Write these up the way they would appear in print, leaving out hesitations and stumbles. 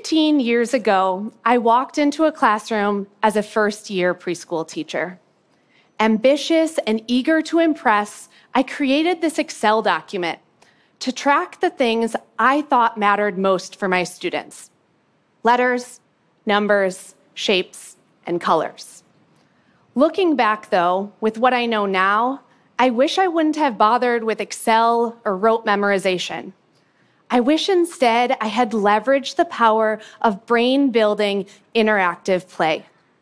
15 years ago, I walked into a classroom as a first-year preschool teacher. Ambitious and eager to impress, I created this Excel document to track the things I thought mattered most for my students: letters, numbers, shapes, and colors. Looking back, though, with what I know now, I wish I wouldn't have bothered with Excel or rote memorization. I wish instead I had leveraged the power of brain-building interactive play.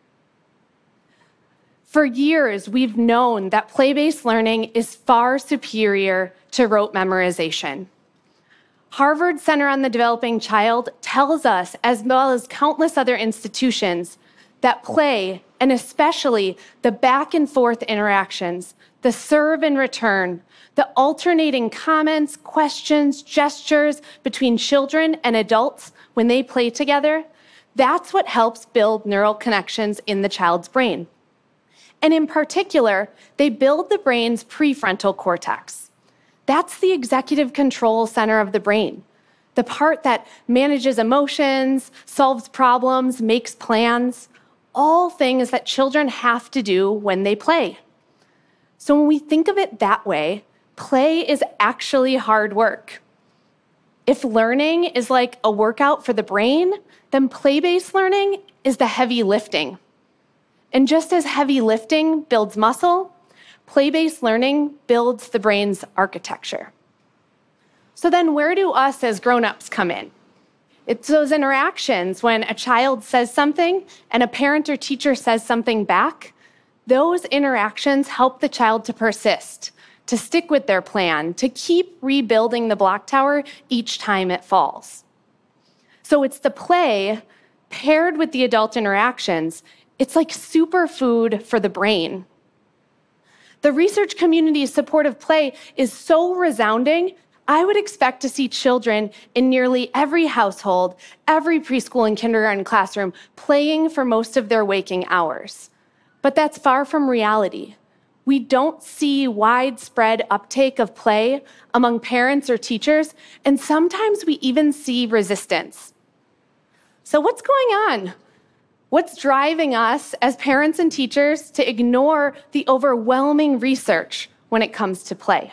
For years, we've known that play-based learning is far superior to rote memorization. Harvard Center on the Developing Child tells us, as well as countless other institutions, that play, and especially the back and forth interactions, the serve and return, the alternating comments, questions, gestures between children and adults when they play together, that's what helps build neural connections in the child's brain. And in particular, they build the brain's prefrontal cortex. That's the executive control center of the brain, the part that manages emotions, solves problems, makes plans, all things that children have to do when they play. So when we think of it that way, play is actually hard work. If learning is like a workout for the brain, then play-based learning is the heavy lifting. And just as heavy lifting builds muscle, play-based learning builds the brain's architecture. So then where do us as grown-ups come in? It's those interactions when a child says something and a parent or teacher says something back. Those interactions help the child to persist, to stick with their plan, to keep rebuilding the block tower each time it falls. So it's the play paired with the adult interactions. It's like superfood for the brain. The research community's support of play is so resounding, I would expect to see children in nearly every household, every preschool and kindergarten classroom playing for most of their waking hours. But that's far from reality. We don't see widespread uptake of play among parents or teachers, and sometimes we even see resistance. So what's going on? What's driving us as parents and teachers to ignore the overwhelming research when it comes to play?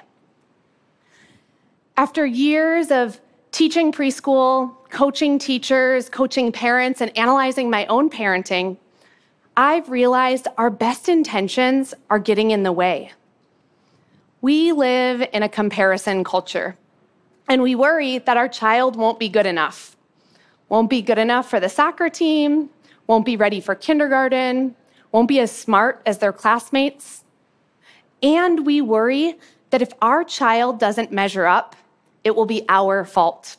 After years of teaching preschool, coaching teachers, coaching parents, and analyzing my own parenting, I've realized our best intentions are getting in the way. We live in a comparison culture, and we worry that our child won't be good enough. Won't be good enough for the soccer team, won't be ready for kindergarten, won't be as smart as their classmates. And we worry that if our child doesn't measure up, it will be our fault.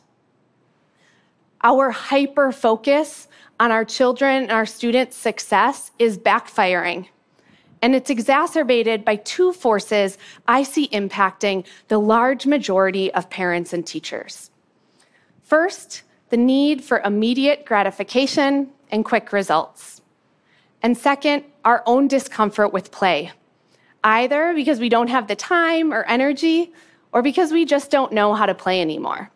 Our hyper-focus on our children and our students' success is backfiring. And it's exacerbated by two forces I see impacting the large majority of parents and teachers. First, the need for immediate gratification and quick results. And second, our own discomfort with play, either because we don't have the time or energy, or because we just don't know how to play anymore.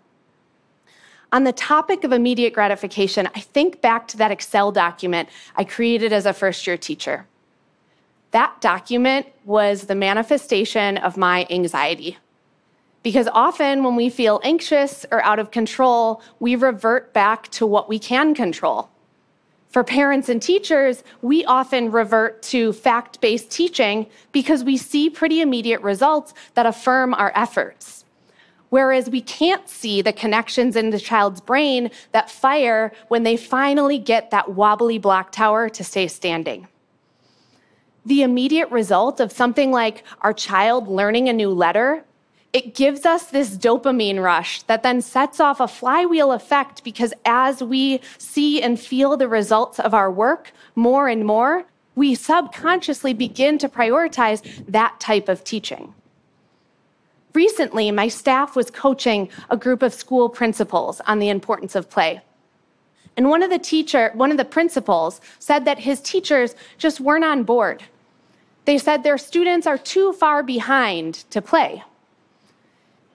On the topic of immediate gratification, I think back to that Excel document I created as a first-year teacher. That document was the manifestation of my anxiety. Because often when we feel anxious or out of control, we revert back to what we can control. For parents and teachers, we often revert to fact-based teaching because we see pretty immediate results that affirm our efforts. Whereas we can't see the connections in the child's brain that fire when they finally get that wobbly block tower to stay standing. The immediate result of something like our child learning a new letter, it gives us this dopamine rush that then sets off a flywheel effect because as we see and feel the results of our work more and more, we subconsciously begin to prioritize that type of teaching. Recently, my staff was coaching a group of school principals on the importance of play. And one of the principals said that his teachers just weren't on board. They said their students are too far behind to play.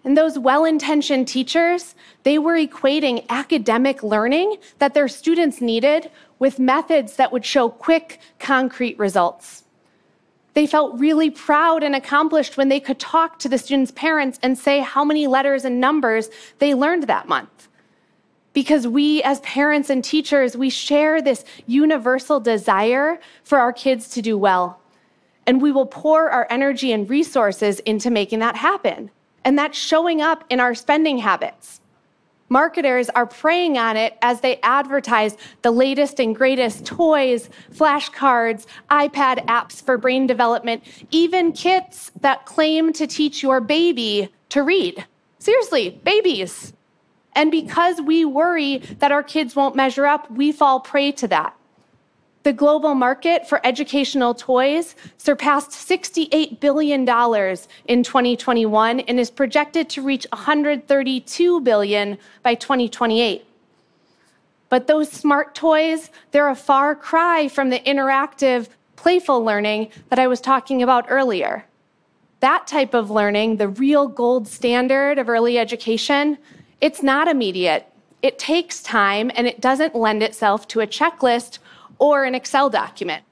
And those well-intentioned teachers, they were equating academic learning that their students needed with methods that would show quick, concrete results. They felt really proud and accomplished when they could talk to the students' parents and say how many letters and numbers they learned that month. Because we, as parents and teachers, we share this universal desire for our kids to do well. And we will pour our energy and resources into making that happen. And that's showing up in our spending habits. Marketers are preying on it as they advertise the latest and greatest toys, flashcards, iPad apps for brain development, even kits that claim to teach your baby to read. Seriously, babies. And because we worry that our kids won't measure up, we fall prey to that. The global market for educational toys surpassed $68 billion in 2021 and is projected to reach $132 billion by 2028. But those smart toys, they're a far cry from the interactive, playful learning that I was talking about earlier. That type of learning, the real gold standard of early education, it's not immediate. It takes time, and it doesn't lend itself to a checklist or an Excel document.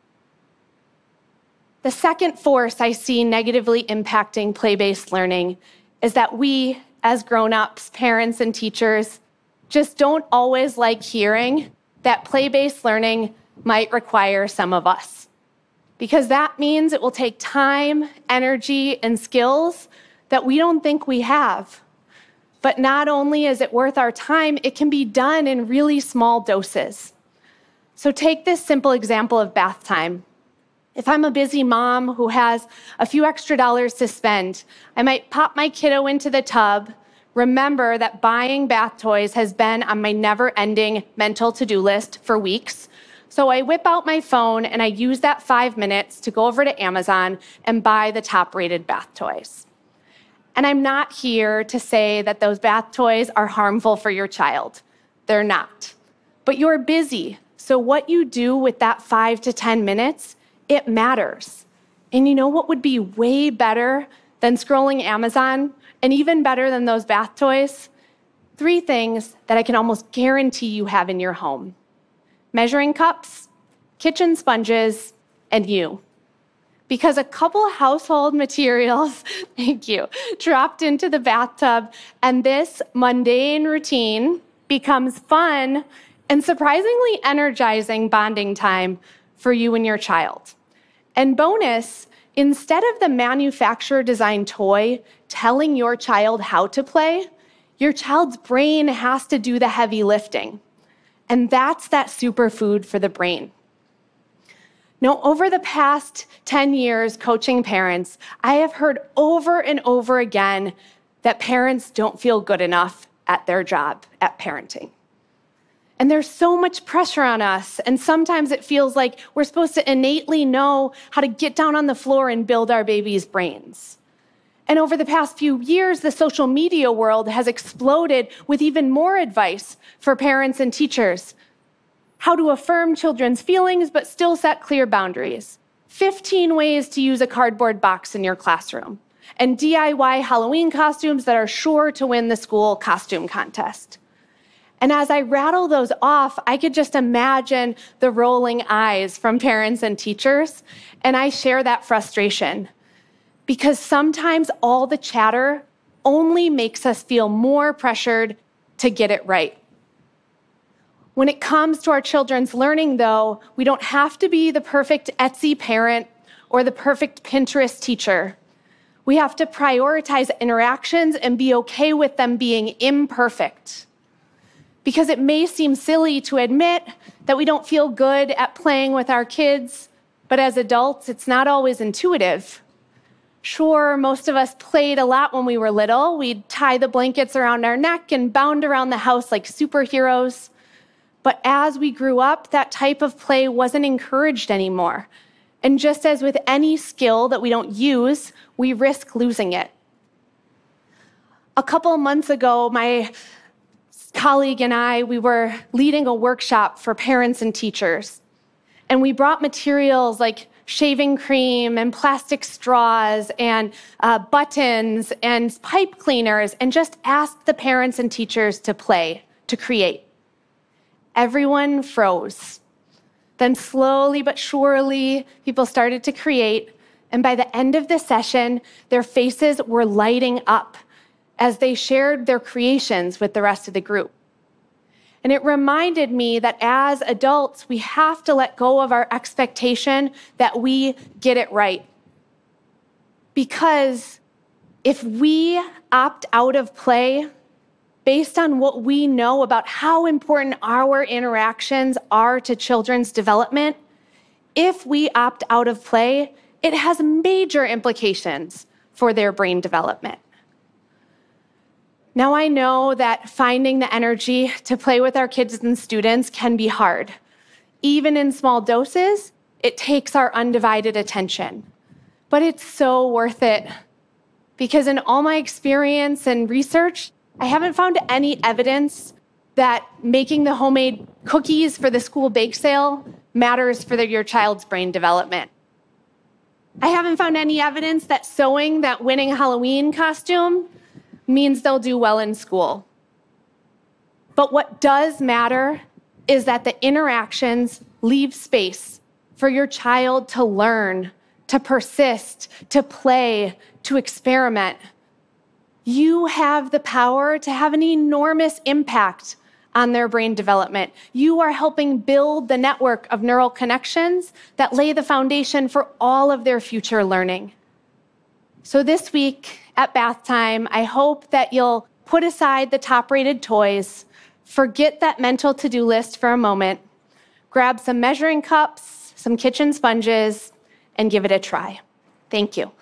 The second force I see negatively impacting play-based learning is that we, as grown-ups, parents, and teachers, just don't always like hearing that play-based learning might require some of us. Because that means it will take time, energy, and skills that we don't think we have. But not only is it worth our time, it can be done in really small doses. So take this simple example of bath time. If I'm a busy mom who has a few extra dollars to spend, I might pop my kiddo into the tub, remember that buying bath toys has been on my never-ending mental to-do list for weeks. So I whip out my phone and I use that 5 minutes to go over to Amazon and buy the top-rated bath toys. And I'm not here to say that those bath toys are harmful for your child. They're not. But you're busy, so what you do with that 5 to 10 minutes, it matters. And you know what would be way better than scrolling Amazon, and even better than those bath toys? 3 things that I can almost guarantee you have in your home: measuring cups, kitchen sponges, and you. Because a couple household materials, thank you, dropped into the bathtub, and this mundane routine becomes fun and surprisingly energizing bonding time for you and your child. And bonus, instead of the manufacturer-designed toy telling your child how to play, your child's brain has to do the heavy lifting. And that's that superfood for the brain. Now, over the past 10 years coaching parents, I have heard over and over again that parents don't feel good enough at their job, at parenting. And there's so much pressure on us, and sometimes it feels like we're supposed to innately know how to get down on the floor and build our baby's brains. And over the past few years, the social media world has exploded with even more advice for parents and teachers: how to affirm children's feelings but still set clear boundaries, 15 ways to use a cardboard box in your classroom, and DIY Halloween costumes that are sure to win the school costume contest. And as I rattle those off, I could just imagine the rolling eyes from parents and teachers, and I share that frustration. Because sometimes all the chatter only makes us feel more pressured to get it right. When it comes to our children's learning, though, we don't have to be the perfect Etsy parent or the perfect Pinterest teacher. We have to prioritize interactions and be okay with them being imperfect. Because it may seem silly to admit that we don't feel good at playing with our kids, but as adults, it's not always intuitive. Sure, most of us played a lot when we were little. We'd tie the blankets around our neck and bound around the house like superheroes. But as we grew up, that type of play wasn't encouraged anymore. And just as with any skill that we don't use, we risk losing it. A couple months ago, my colleague and I, we were leading a workshop for parents and teachers. And we brought materials like shaving cream and plastic straws and buttons and pipe cleaners and just asked the parents and teachers to play, to create. Everyone froze. Then slowly but surely, people started to create. And by the end of the session, their faces were lighting up as they shared their creations with the rest of the group. And it reminded me that as adults, we have to let go of our expectation that we get it right. Because if we opt out of play, based on what we know about how important our interactions are to children's development, if we opt out of play, it has major implications for their brain development. Now, I know that finding the energy to play with our kids and students can be hard. Even in small doses, it takes our undivided attention. But it's so worth it. Because in all my experience and research, I haven't found any evidence that making the homemade cookies for the school bake sale matters for your child's brain development. I haven't found any evidence that sewing that winning Halloween costume means they'll do well in school. But what does matter is that the interactions leave space for your child to learn, to persist, to play, to experiment. You have the power to have an enormous impact on their brain development. You are helping build the network of neural connections that lay the foundation for all of their future learning. So this week at bath time, I hope that you'll put aside the top-rated toys, forget that mental to-do list for a moment, grab some measuring cups, some kitchen sponges, and give it a try. Thank you.